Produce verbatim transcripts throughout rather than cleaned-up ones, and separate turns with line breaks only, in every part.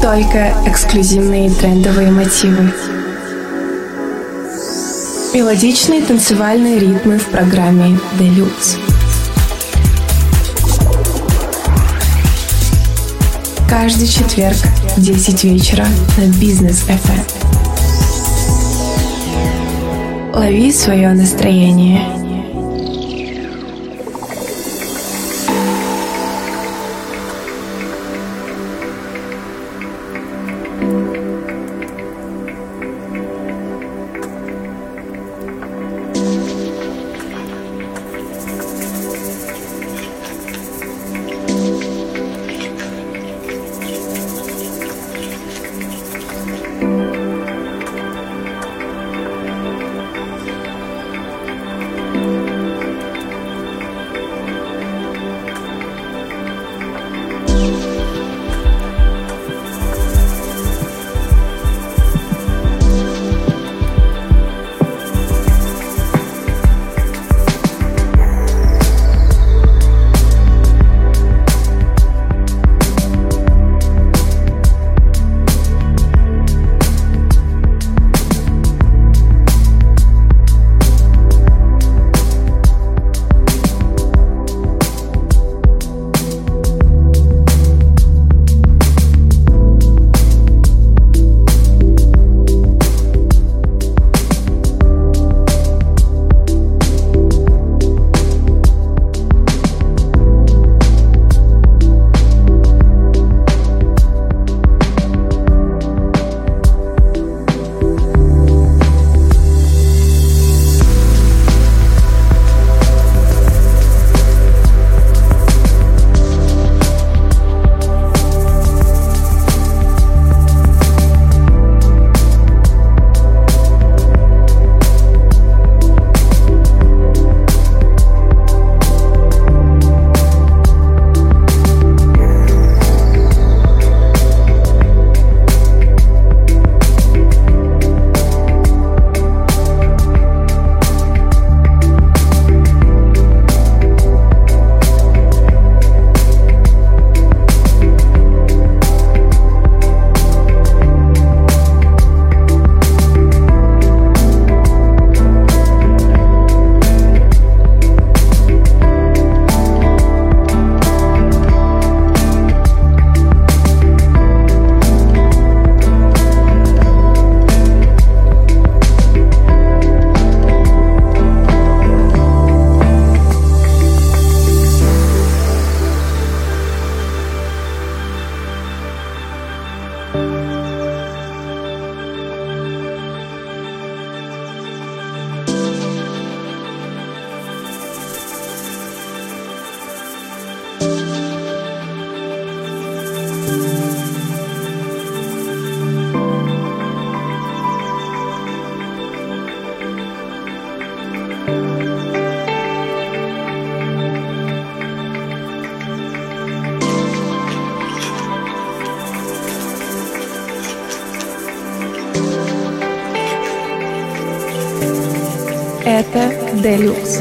только эксклюзивные трендовые мотивы. Мелодичные танцевальные ритмы в программе Deluxe. Каждый четверг в десять вечера на Бизнес эф эм. Лови свое настроение. Это Deluxe.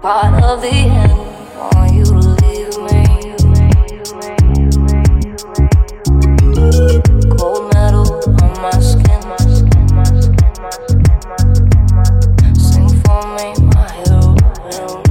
part of the end. Want you to leave me. Cold metal on my skin. Sing for me, my heroine.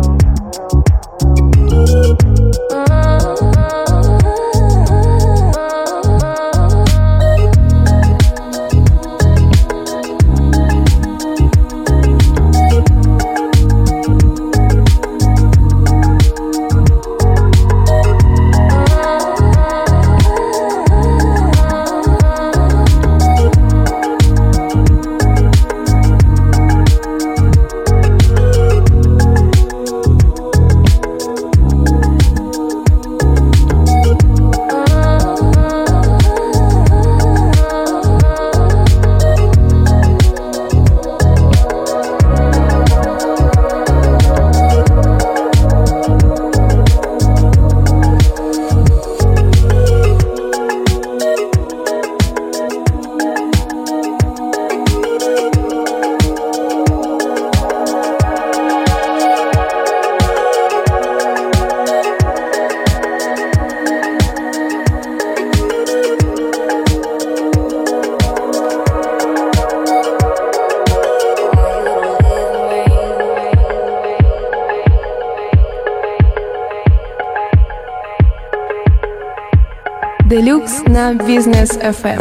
Делюкс на Бизнес эф эм.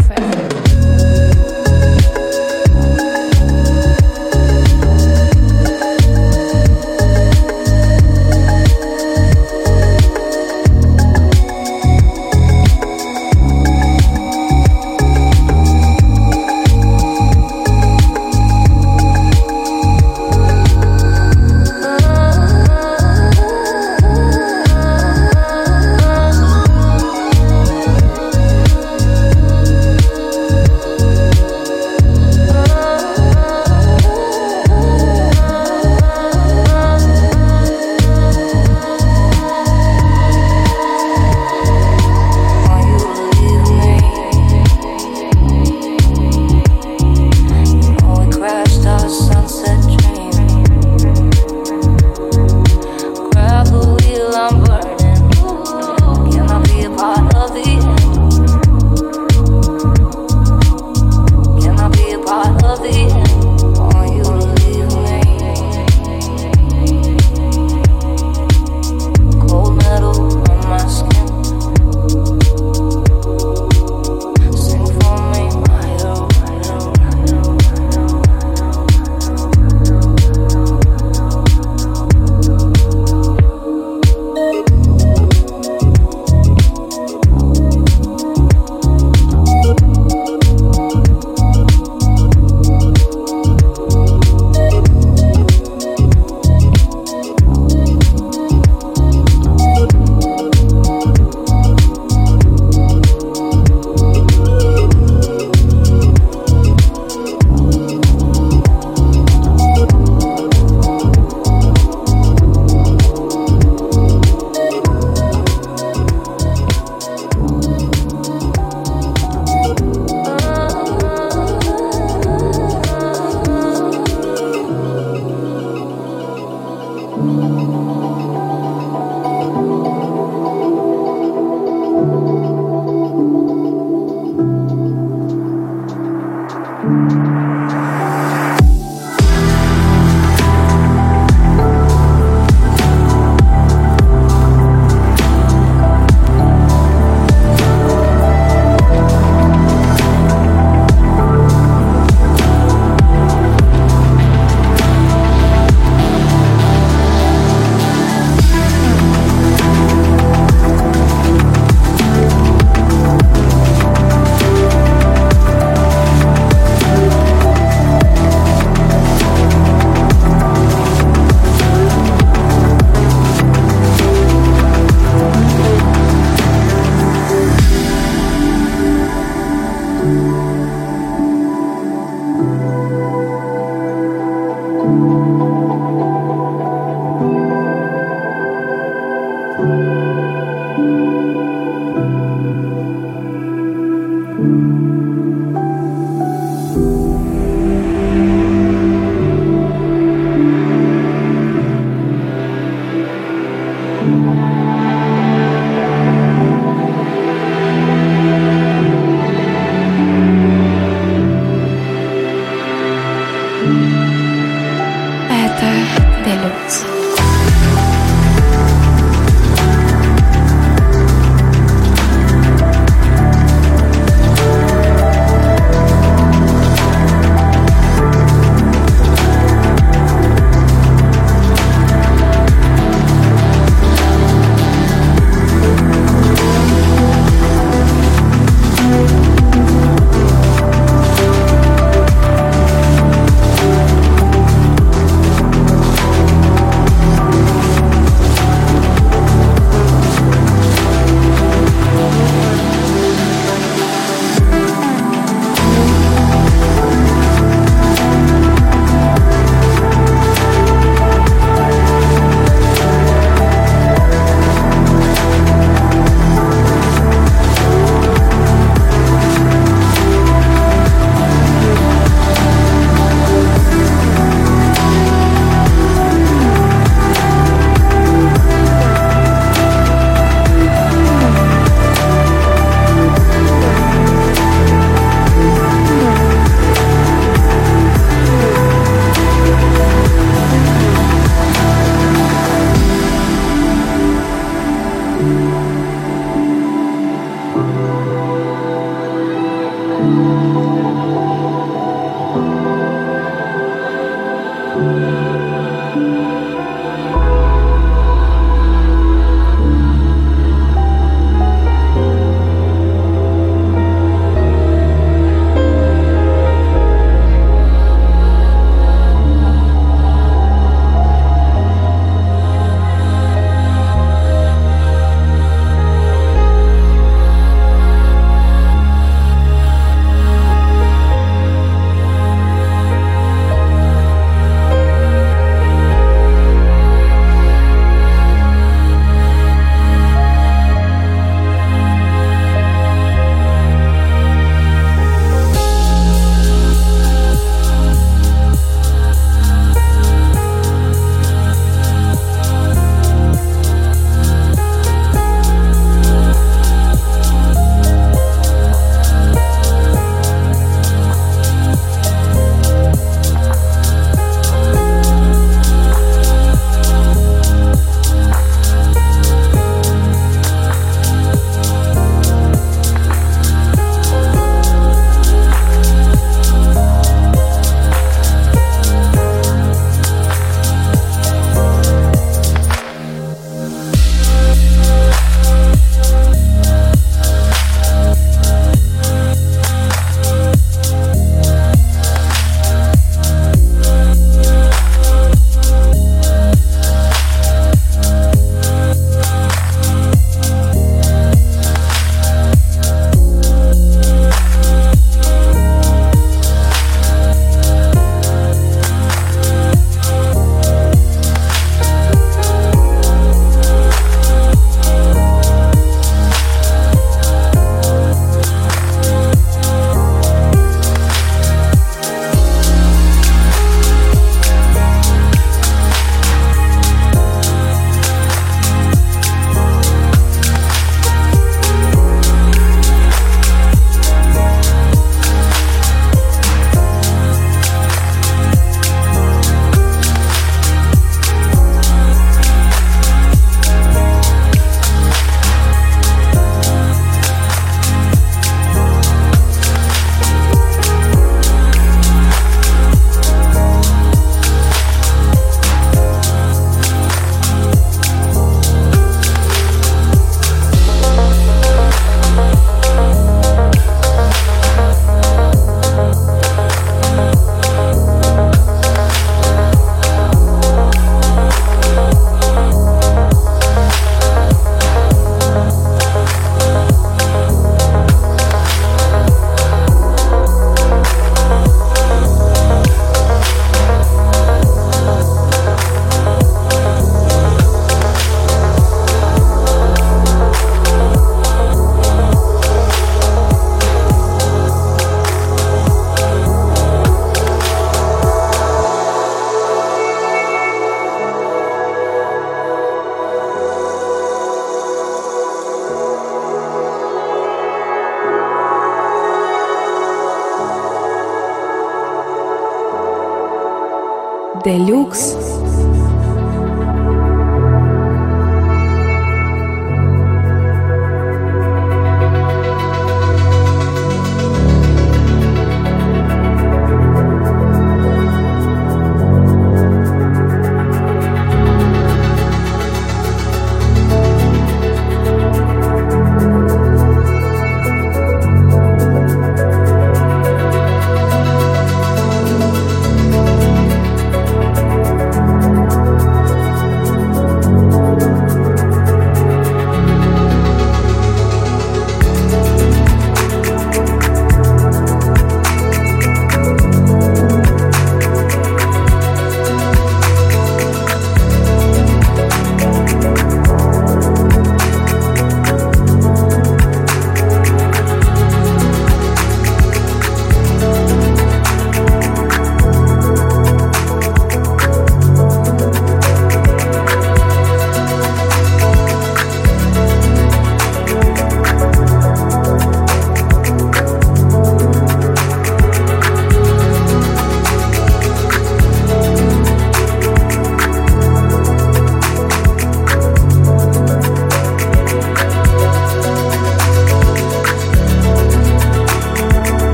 Deluxe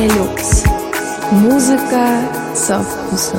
Deluxe. Музыка со вкусом.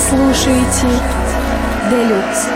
слушаете Делюкс.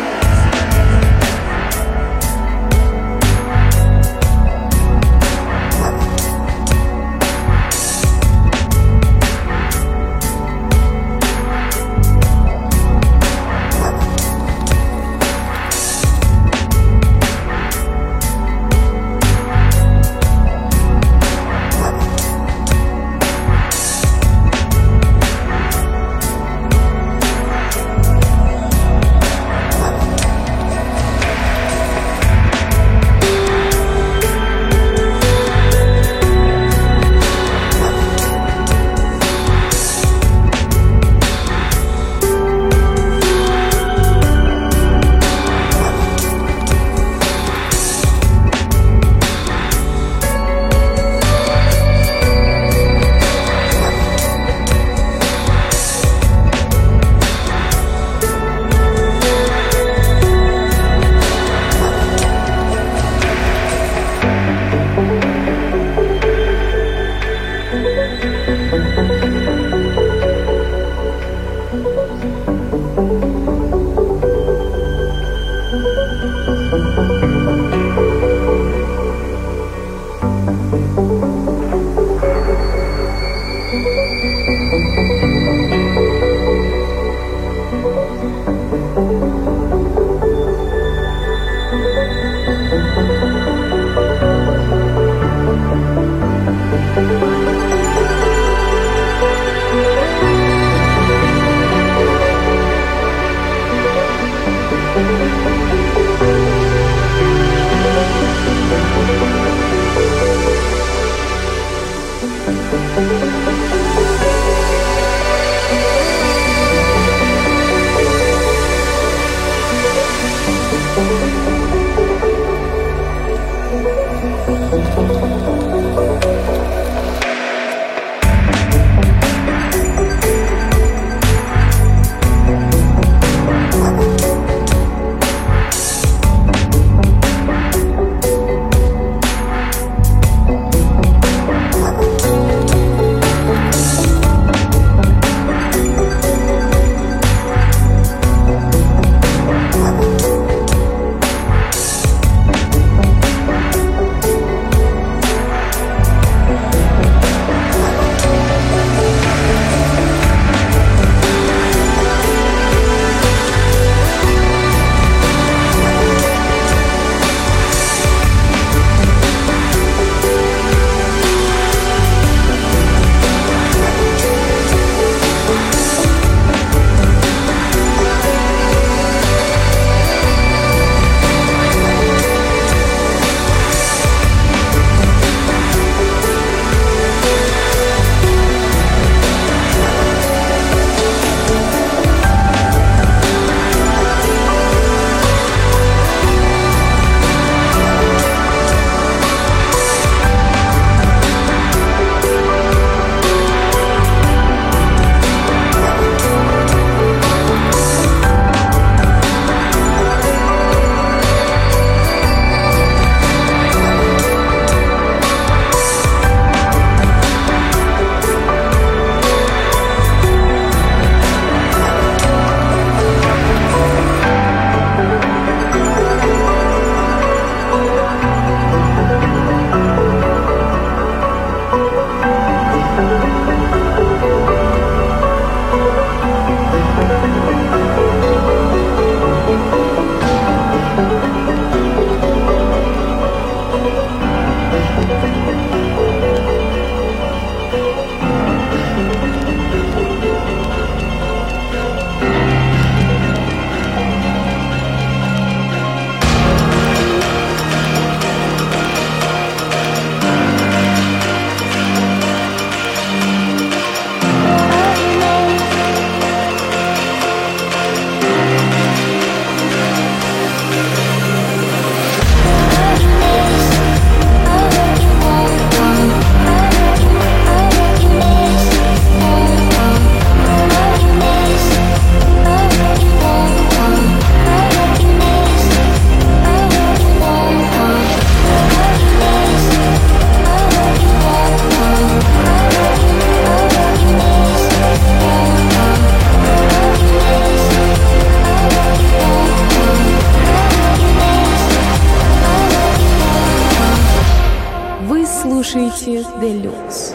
слушаете Делюкс.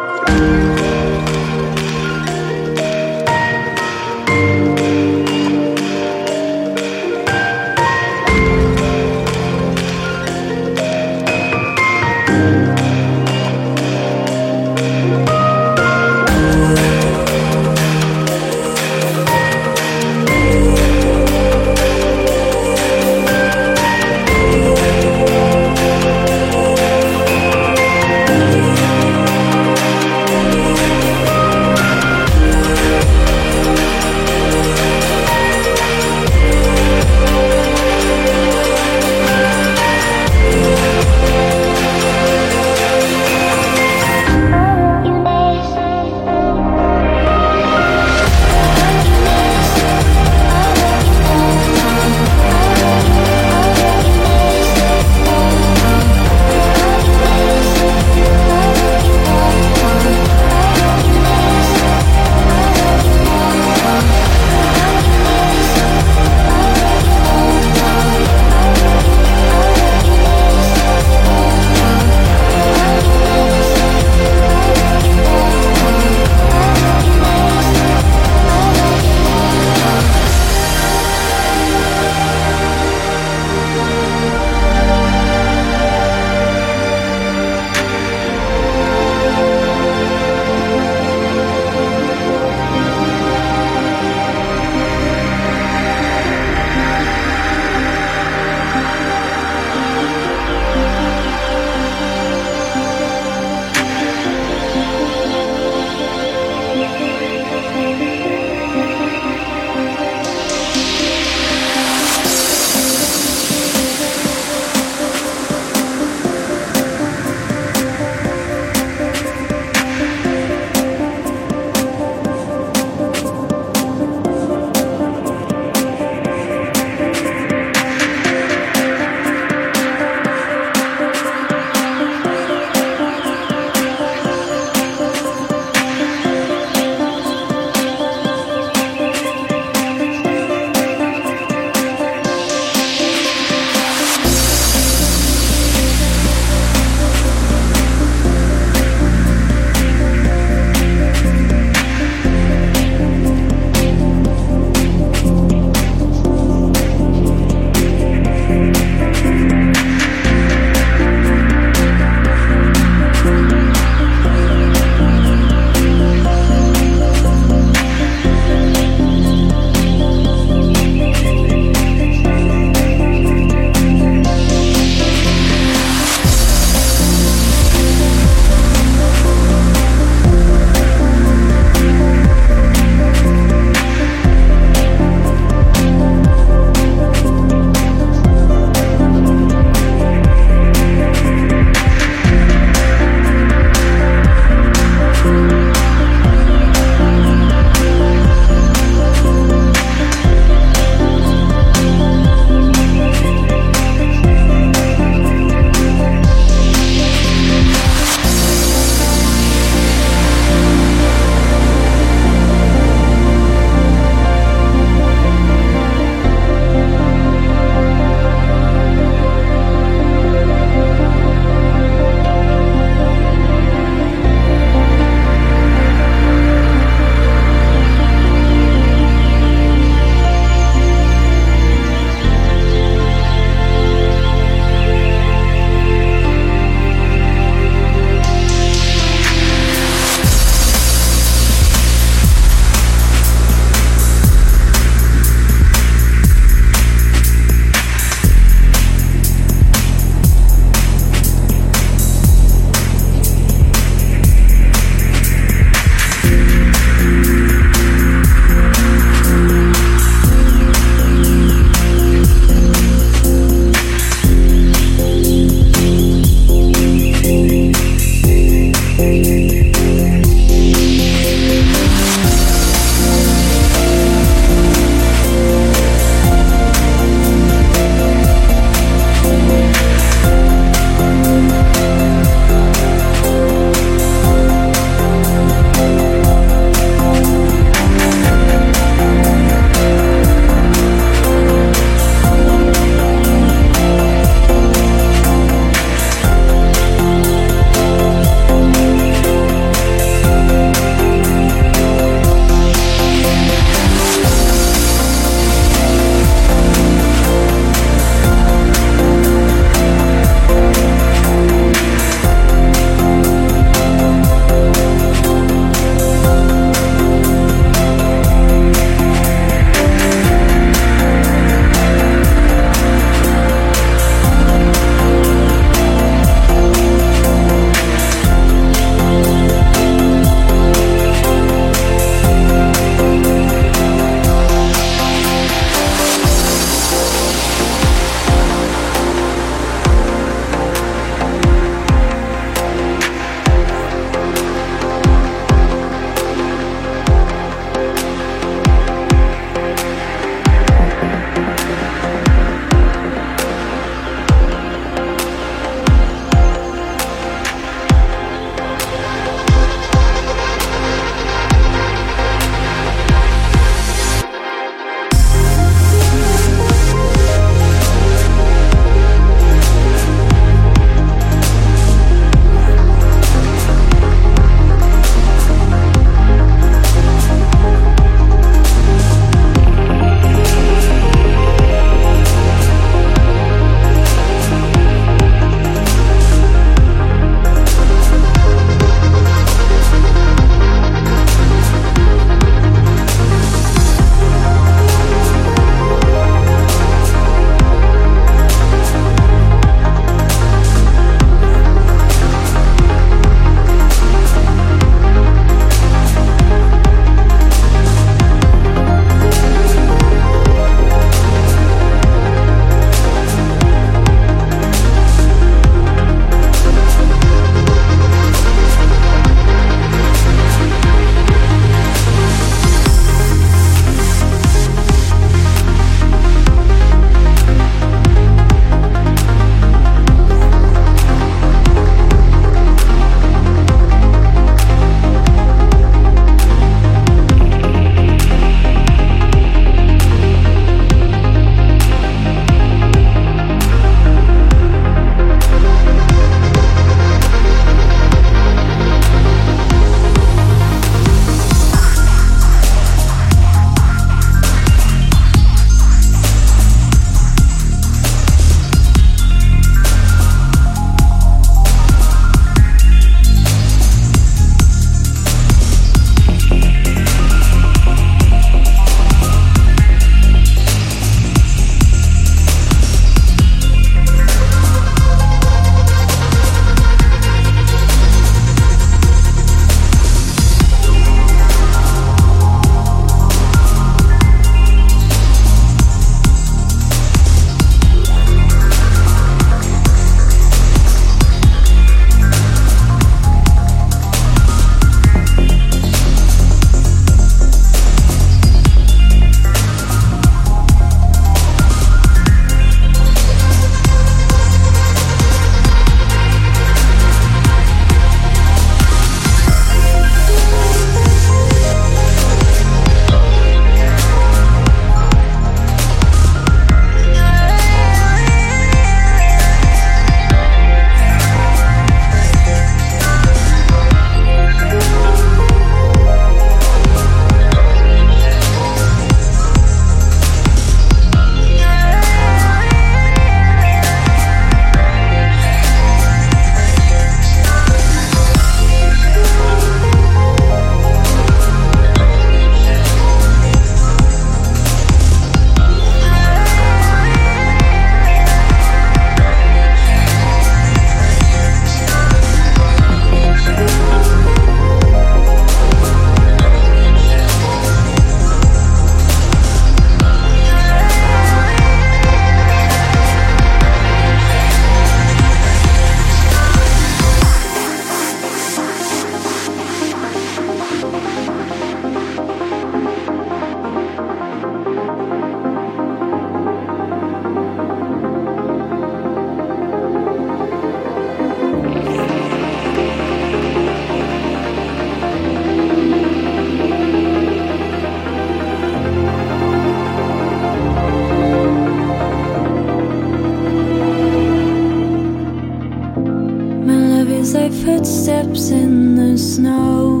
Sounds like footsteps in the snow,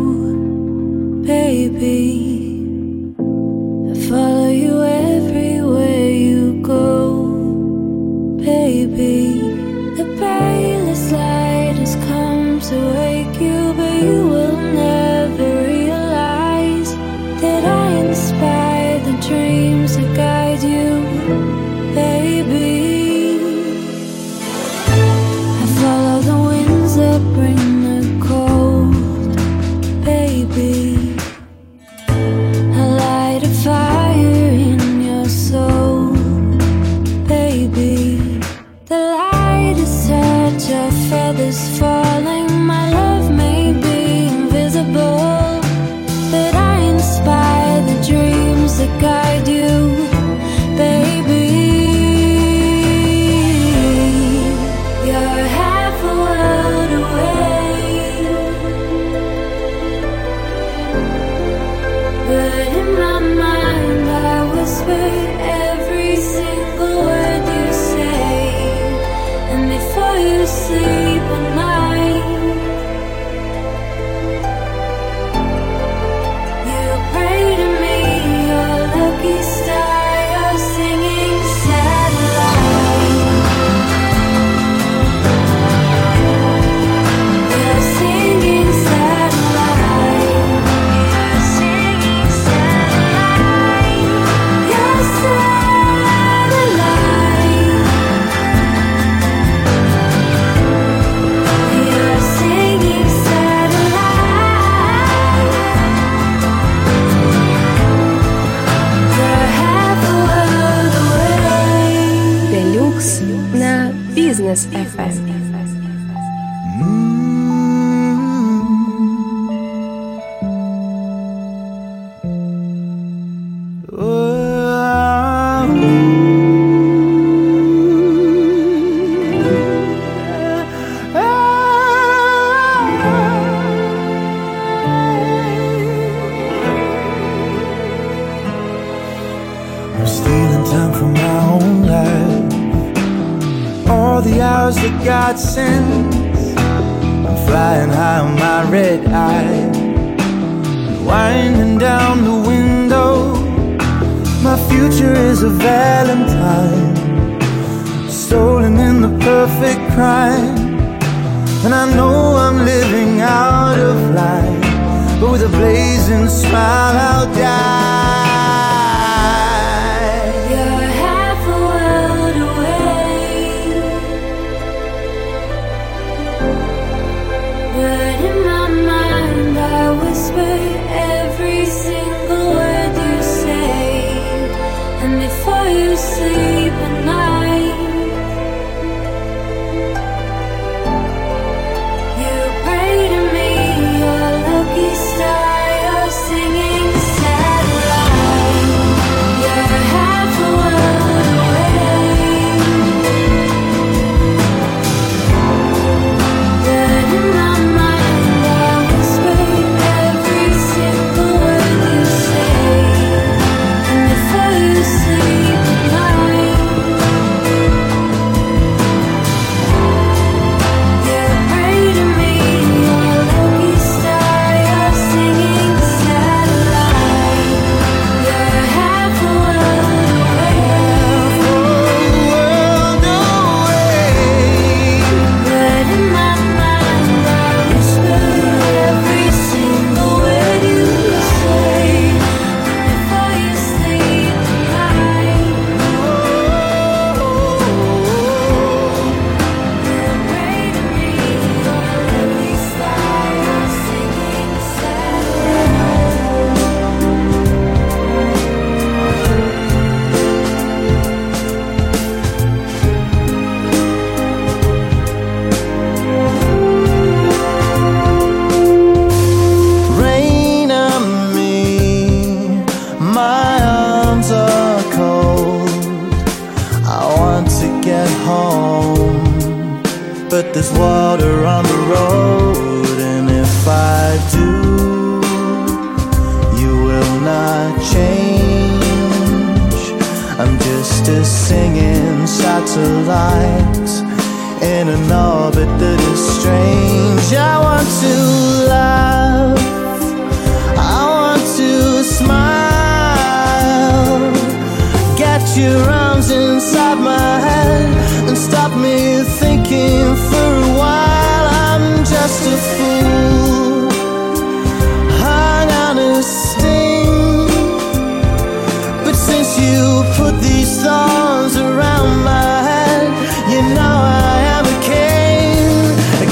baby. I follow you everywhere you go, baby. The palest light has come to wake you, but you will never realize that I inspire the dreams that guide you, baby. I follow the winds that bring the cold, baby. I light a fire in your soul, baby. The light is such a feathers falling. My love may be invisible, but I inspire the dreams that guide you, baby. You're half a world away, but in my mind I whisper every single word you say. And before you sleep at night, you pray to me, your lucky star, your singing satellite. Your singing satellite. Your singing satellite. Your satellite. Your singing satellite. You're half a world away.
Deluxe на Business эф эм.
I'm stealing time from my own life, all the hours that God sends. I'm flying high on my red eye, winding down the window. My future is a valentine, stolen in the perfect crime. And I know I'm living out of line, but with a blazing smile I'll die.
You're half a world away, but in my mind I whisper every single word you say. And before you sleep at night, you pray to me, your lucky star, your singing satellite. You're half a world away, but in my mind I whisper every single word you say. And before you sleep at night, you pray to me, your lucky star, your singing satellite. You're half a world away, but in my mind I whisper every single word you say. Before you sleep tonight, you pray to me, your lucky star, your singing satellite.
Rain on me, my arms are cold. I want to get home, but there's water on the road. And if I do, you will not change. I'm just a singing satellite in an orbit that is strange. I want to laugh, I want to smile. Get your arms inside my head and stop me thinking for a while. I'm just a fool, hung on a sting. But since you put these thorns around my head, you know I am a king, a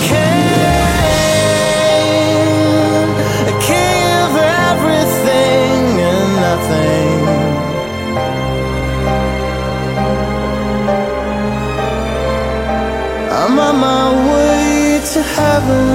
king, a king of everything and nothing. I'm on my way to heaven.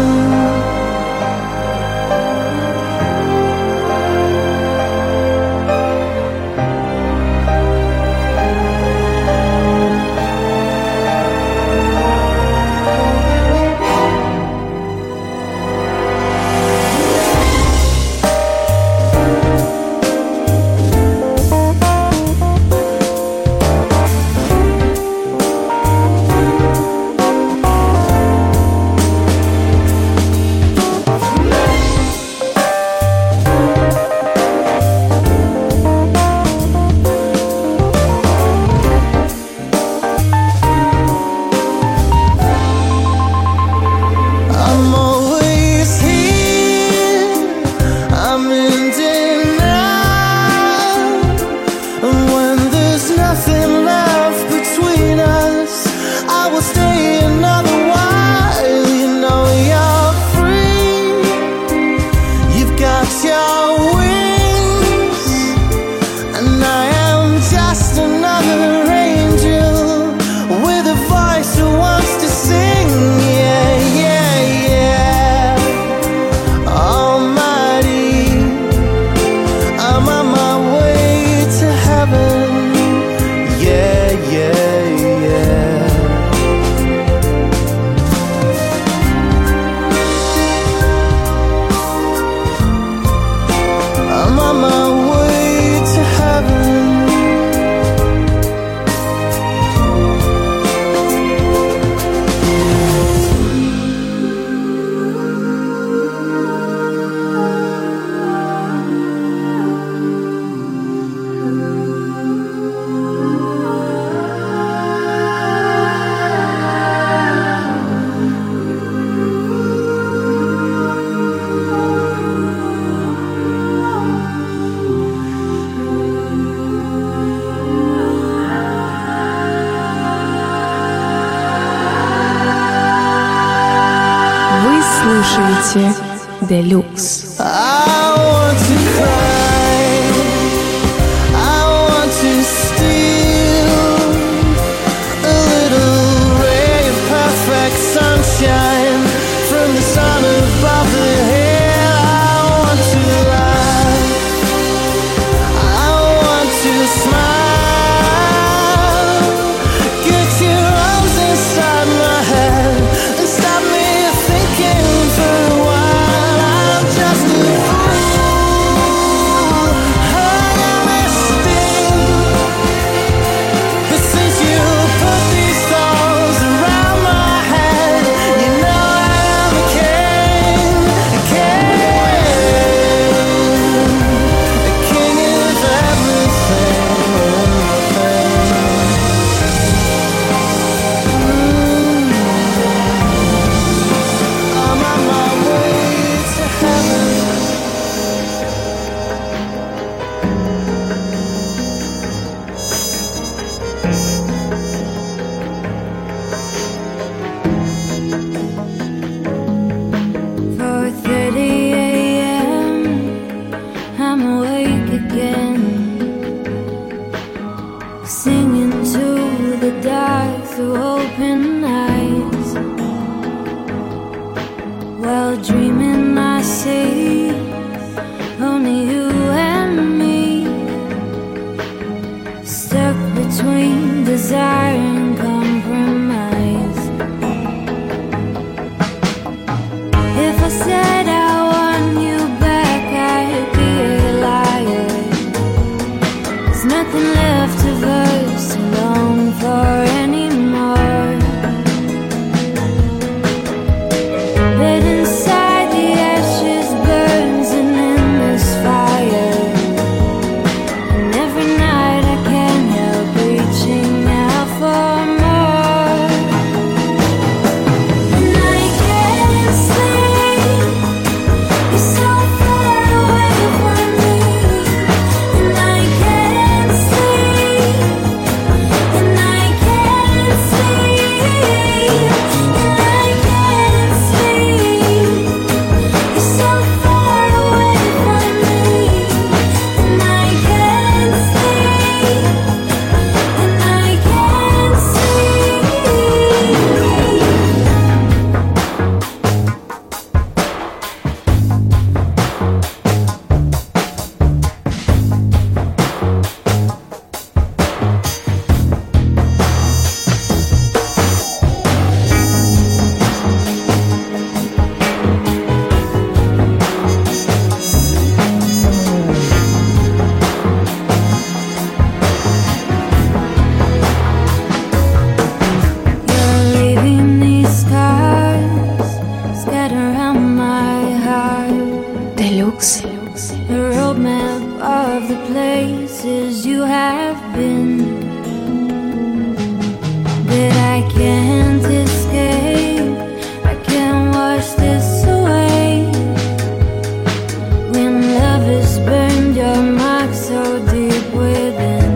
слушаете Deluxe.
Sunshine from the sun above the hill. I want to laugh, I want to smile. Get your arms inside my head and stop me thinking for a while. I'm just a fool, hung on a sting. But since you put these thorns around my head, you know I am a king, a king, a king of everything and nothing. I'm on my way to heaven.
four thirty a.m. I'm awake again, singing to the dark through open eyes. While dreaming I see only you and me, stuck between desire and compromise. If I said I want you back, I'd be a liar. There's nothing left of us to long for anymore. places you have been, but I can't escape. I can't wash this away. When love has burned your mark so deep within.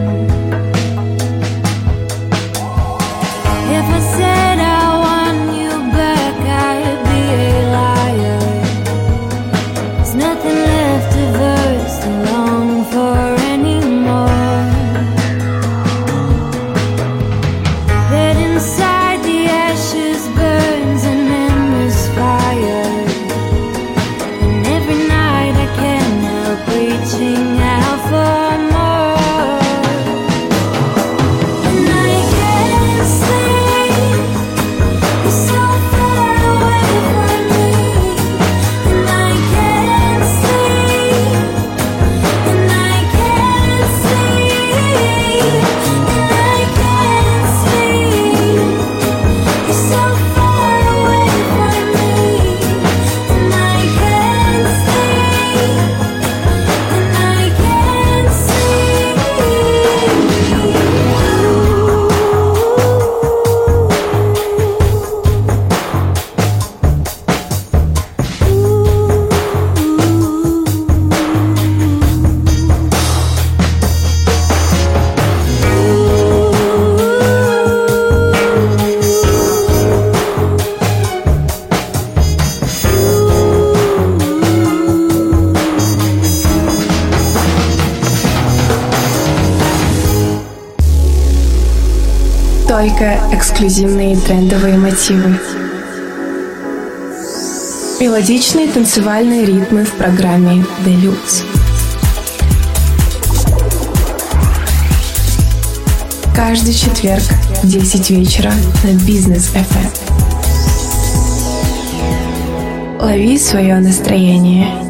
If I said I want you back, I'd be a liar. There's nothing left of us to long for anymore. But inside the ashes burns an endless fire, and every night I can't help reaching out for more. And I can't sleep, you're so far away from me. And I can't sleep, and I can't sleep, and I can't sleep. You're so far away from me. And I can't sleep, and I can't
Только эксклюзивные трендовые мотивы. Мелодичные танцевальные ритмы в программе Deluxe. Каждый четверг в десять вечера на Бизнес эф эм. Лови свое настроение.